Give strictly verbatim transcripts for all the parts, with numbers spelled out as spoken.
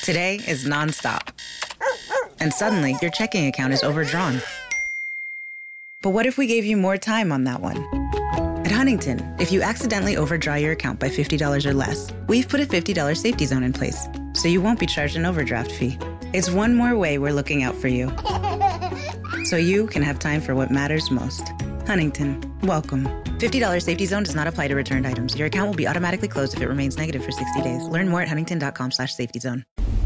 Today is nonstop. And suddenly, your checking account is overdrawn. But what if we gave you more time on that one? At Huntington, if you accidentally overdraw your account by fifty dollars or less, we've put a fifty dollars safety zone in place, so you won't be charged an overdraft fee. It's one more way we're looking out for you, so you can have time for what matters most. Huntington, welcome. fifty dollars safety zone does not apply to returned items. Your account will be automatically closed if it remains negative for sixty days. Learn more at huntington.com slash safety zone.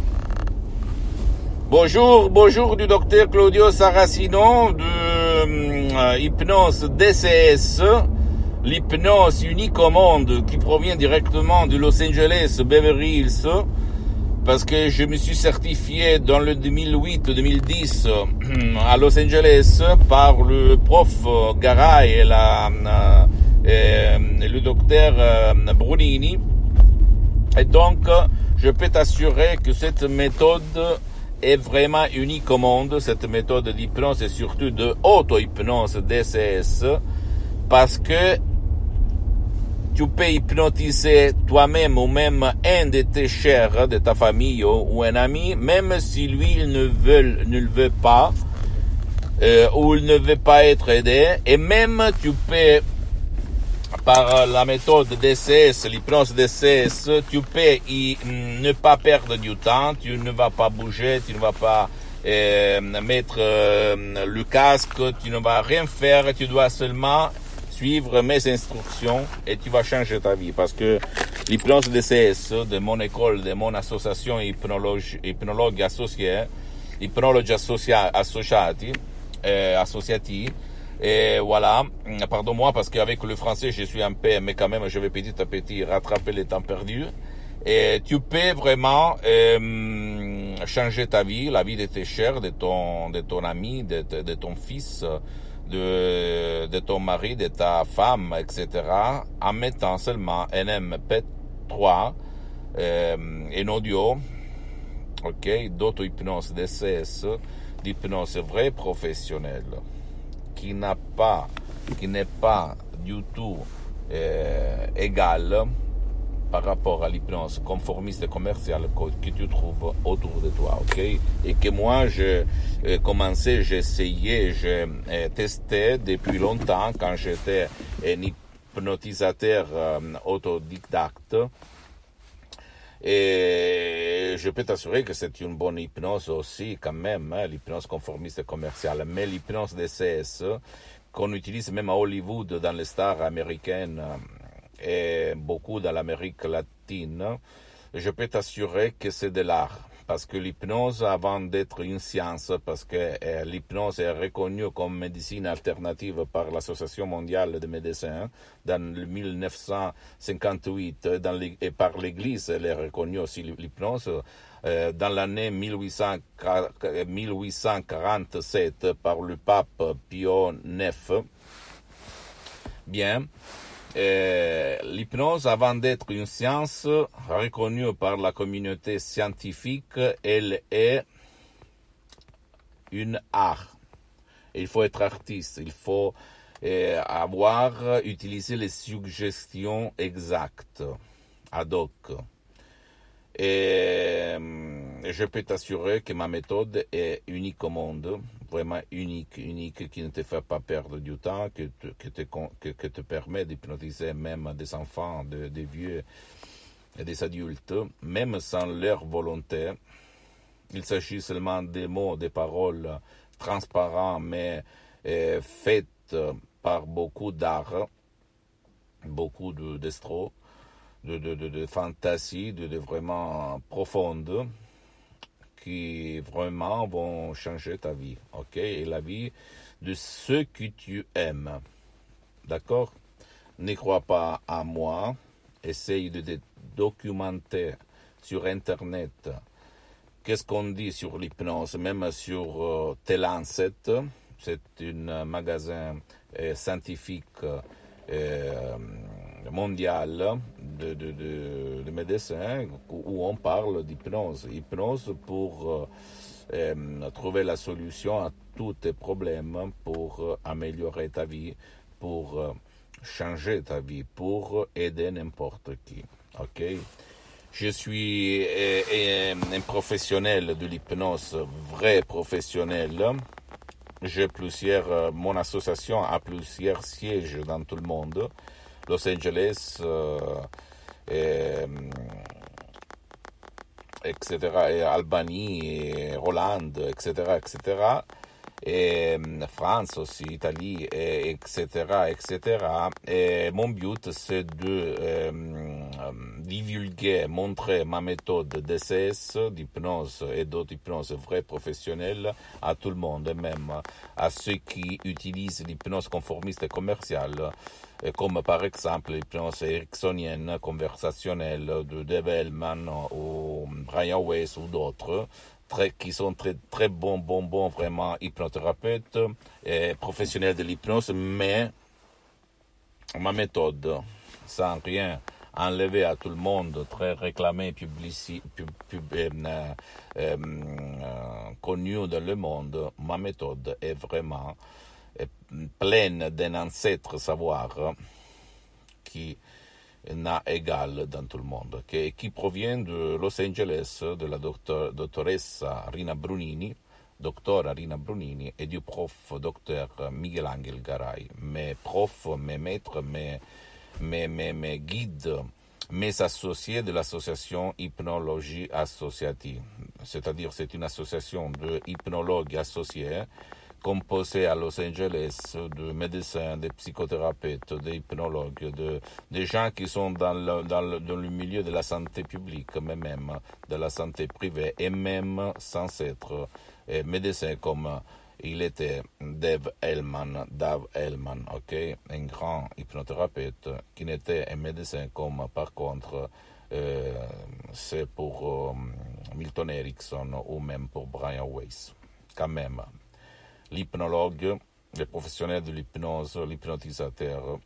Bonjour, bonjour du docteur Claudio Saracino de euh, Hypnose D C S, l'hypnose unique au monde qui provient directement de Los Angeles, Beverly Hills, parce que je me suis certifié dans le deux mille huit deux mille dix à Los Angeles par le prof Garay et, la, et le docteur Brunini. Et donc, je peux t'assurer que cette méthode est vraiment unique au monde, cette méthode d'hypnose et surtout de auto-hypnose D C S, parce que tu peux hypnotiser toi-même ou même un de tes chers, de ta famille ou un ami, même si lui il ne veut, ne le veut pas, euh, ou il ne veut pas être aidé, et même tu peux, par la méthode D C S, l'hypnose D C S, tu peux y, ne pas perdre du temps, tu ne vas pas bouger, tu ne vas pas euh, mettre euh, le casque, tu ne vas rien faire, tu dois seulement suivre mes instructions et tu vas changer ta vie, parce que l'hypnose D C S de mon école, de mon association hypnologue, hypnologue associée, hypnologue associa, associati, euh, associati, et voilà, pardon-moi parce qu'avec le français je suis un peu, mais quand même je vais petit à petit rattraper le temps perdu. Et tu peux vraiment euh, changer ta vie, la vie de tes chers, de ton, de ton ami, de, de ton fils, de, de ton mari, de ta femme, et cetera, en mettant seulement un M P trois, euh, un audio, ok, d'auto-hypnose D C S, d'hypnose vraie professionnelle, qui n'a pas, qui n'est pas du tout euh, égal par rapport à l'hypnose conformiste et commerciale que tu trouves autour de toi, ok? Et que moi, j'ai euh, commencé, j'ai essayé, j'ai euh, testé depuis longtemps quand j'étais un hypnotisateur euh, autodidacte. Et je peux t'assurer que c'est une bonne hypnose aussi quand même, hein, l'hypnose conformiste et commerciale. Mais l'hypnose D C S, qu'on utilise même à Hollywood dans les stars américaines et beaucoup dans l'Amérique latine, je peux t'assurer que c'est de l'art. Parce que l'hypnose, avant d'être une science, parce que euh, l'hypnose est reconnue comme médecine alternative par l'Association mondiale des médecins dans le mille neuf cent cinquante-huit, dans les, et par l'Église, elle est reconnue aussi l'hypnose. Euh, dans l'année mille huit cent quarante-sept par le pape Pio neuf. Bien. Euh, l'hypnose, avant d'être une science reconnue par la communauté scientifique, elle est une art. Il faut être artiste, il faut euh, avoir utilisé les suggestions exactes, ad hoc. Et je peux t'assurer que ma méthode est unique au monde, vraiment unique, unique, qui ne te fait pas perdre du temps, que te, que te, que, que te permet d'hypnotiser même des enfants, de, des vieux et des adultes, même sans leur volonté. Il s'agit seulement des mots, des paroles transparents, mais euh, faites par beaucoup d'art, beaucoup de d'estro. De, de, de, de fantaisie, de, de vraiment profonde, qui vraiment vont changer ta vie, ok? Et la vie de ceux que tu aimes, d'accord? Ne crois pas à moi, essaye de te documenter sur Internet. Qu'est-ce qu'on dit sur l'hypnose, même sur euh, T-Lancet, c'est un magasin euh, scientifique euh, mondial de, de, de, de médecins où on parle d'hypnose. Hypnose pour euh, euh, trouver la solution à tous tes problèmes, pour euh, améliorer ta vie, pour euh, changer ta vie, pour aider n'importe qui. Ok? Je suis euh, un professionnel de l'hypnose, vrai professionnel. J'ai plusieurs, mon association a plusieurs sièges dans tout le monde, Los Angeles, euh, et, et cetera, et Albanie, et Hollande, et cetera, et cetera, et France aussi, Italie, et, etc., et cetera. Et mon but, c'est de euh, divulguer, montrer ma méthode D C S, d'hypnose et d'autres hypnoses vraies professionnelles à tout le monde, et même à ceux qui utilisent l'hypnose conformiste et commerciale, comme par exemple l'hypnose ericksonienne, conversationnelle de Dave Hellman ou Brian Weiss ou d'autres. Très, qui sont très, très bons, bons, bons, vraiment hypnothérapeutes et professionnels de l'hypnose, mais ma méthode, sans rien enlever à tout le monde, très réclamée, publici, pub, pub, euh, euh, euh, connue dans le monde, ma méthode est vraiment euh, pleine d'un ancêtre savoir qui n'a égal dans tout le monde, qui, qui provient de Los Angeles, de la doctor, dottoressa Rina Brunini, doctora Rina Brunini, et du prof docteur Miguel Angel Garay, mes profs, mes maîtres, mes, mes, mes, mes guides, mes associés de l'association Hypnologie Associative. C'est-à-dire c'est une association de hypnologues associés composé à Los Angeles de médecins, de psychothérapeutes, d'hypnologues, de, de gens qui sont dans le, dans, le, dans le milieu de la santé publique, mais même de la santé privée, et même sans être eh, médecin comme il était Dave Hellman, Dave Hellman, ok, un grand hypnothérapeute qui n'était un médecin comme par contre euh, c'est pour euh, Milton Erickson ou même pour Brian Weiss, quand même. L'hypnologue, le professionnel de l'hypnose, l'hypnotisateur,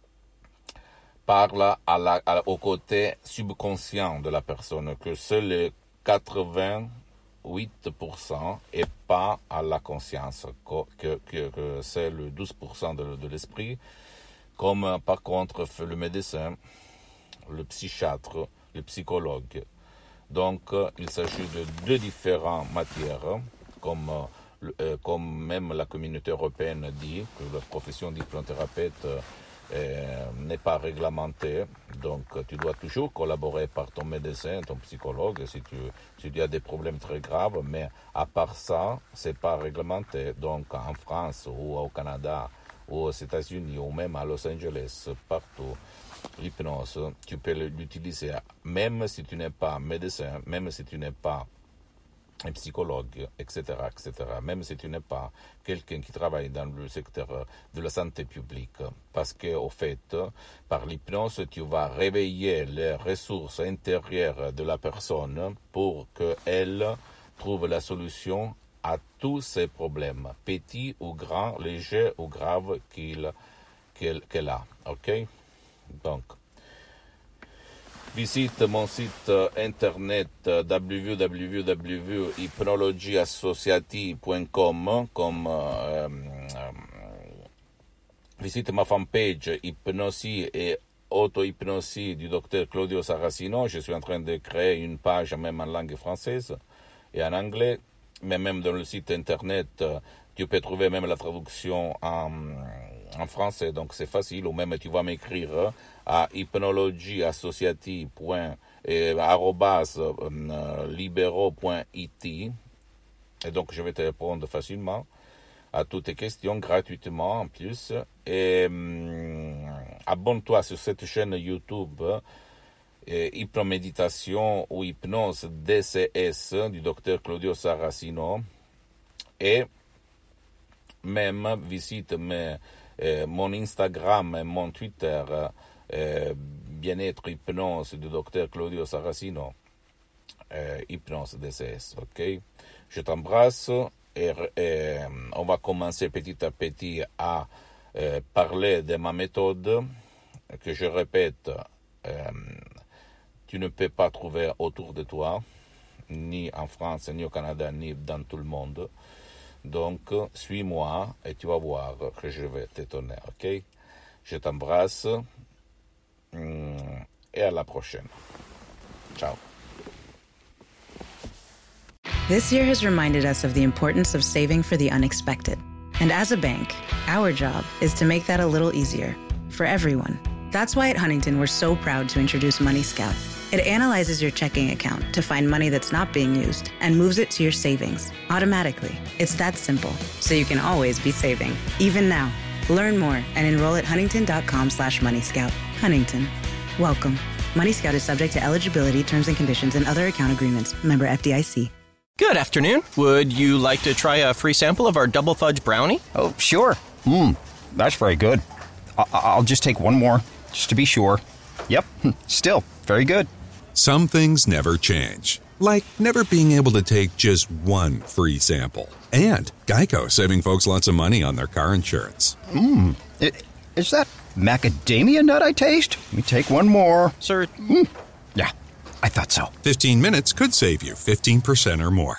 parle à la, à, au côté subconscient de la personne, que c'est le quatre-vingt-huit pour cent et pas à la conscience, que, que, que c'est le douze pour cent de, de l'esprit, comme par contre fait le médecin, le psychiatre, le psychologue. Donc, il s'agit de deux différentes matières, comme Euh, comme même la communauté européenne dit que la profession d'hypnothérapeute euh, n'est pas réglementée, donc tu dois toujours collaborer par ton médecin, ton psychologue, si tu, si tu as des problèmes très graves, mais à part ça, c'est pas réglementé. Donc en France ou au Canada ou aux États-Unis ou même à Los Angeles, partout, l'hypnose, tu peux l'utiliser même si tu n'es pas médecin, même si tu n'es pas un psychologue, et cetera, et cetera, même si tu n'es pas quelqu'un qui travaille dans le secteur de la santé publique. Parce que, au fait, par l'hypnose, tu vas réveiller les ressources intérieures de la personne pour qu'elle trouve la solution à tous ses problèmes, petits ou grands, légers ou graves qu'il, qu'elle, qu'elle a. OK? Donc, visite mon site internet w w w point hypnologie associative point com, comme euh, euh, visite ma fanpage Hypnosie et auto-hypnosie du docteur Claudio Saracino. Je suis en train de créer une page même en langue française et en anglais, mais même dans le site internet, tu peux trouver même la traduction en, en français, donc c'est facile, ou même tu vas m'écrire à hypnologieassociative point libero point it, et donc je vais te répondre facilement à toutes tes questions gratuitement en plus. Et hum, abonne-toi sur cette chaîne YouTube eh, Hypnoméditation ou Hypnose D C S du docteur Claudio Saracino, et même visite mes, eh, mon Instagram et mon Twitter eh, Bien-être Hypnose du docteur Claudio Saracino, eh, Hypnose D C S, ok? Je t'embrasse. Et, et on va commencer petit à petit à euh, parler de ma méthode, que je répète, euh, tu ne peux pas trouver autour de toi, ni en France, ni au Canada, ni dans tout le monde. Donc, suis-moi et tu vas voir que je vais t'étonner, ok? Je t'embrasse et à la prochaine. Ciao. This year has reminded us of the importance of saving for the unexpected. And as a bank, our job is to make that a little easier for everyone. That's why at Huntington, we're so proud to introduce Money Scout. It analyzes your checking account to find money that's not being used and moves it to your savings automatically. It's that simple, so you can always be saving, even now. Learn more and enroll at huntington.com slash Money Scout. Huntington. Welcome. Money Scout is subject to eligibility, terms and conditions, and other account agreements. Member F D I C. Good afternoon. Would you like to try a free sample of our double fudge brownie? Oh, sure. Mmm, that's very good. I- I'll just take one more, just to be sure. Yep, still very good. Some things never change, like never being able to take just one free sample. And Geico saving folks lots of money on their car insurance. Mmm, is that macadamia nut I taste? Let me take one more. Sir? Mm. Yeah, I thought so. fifteen minutes could save you fifteen percent or more.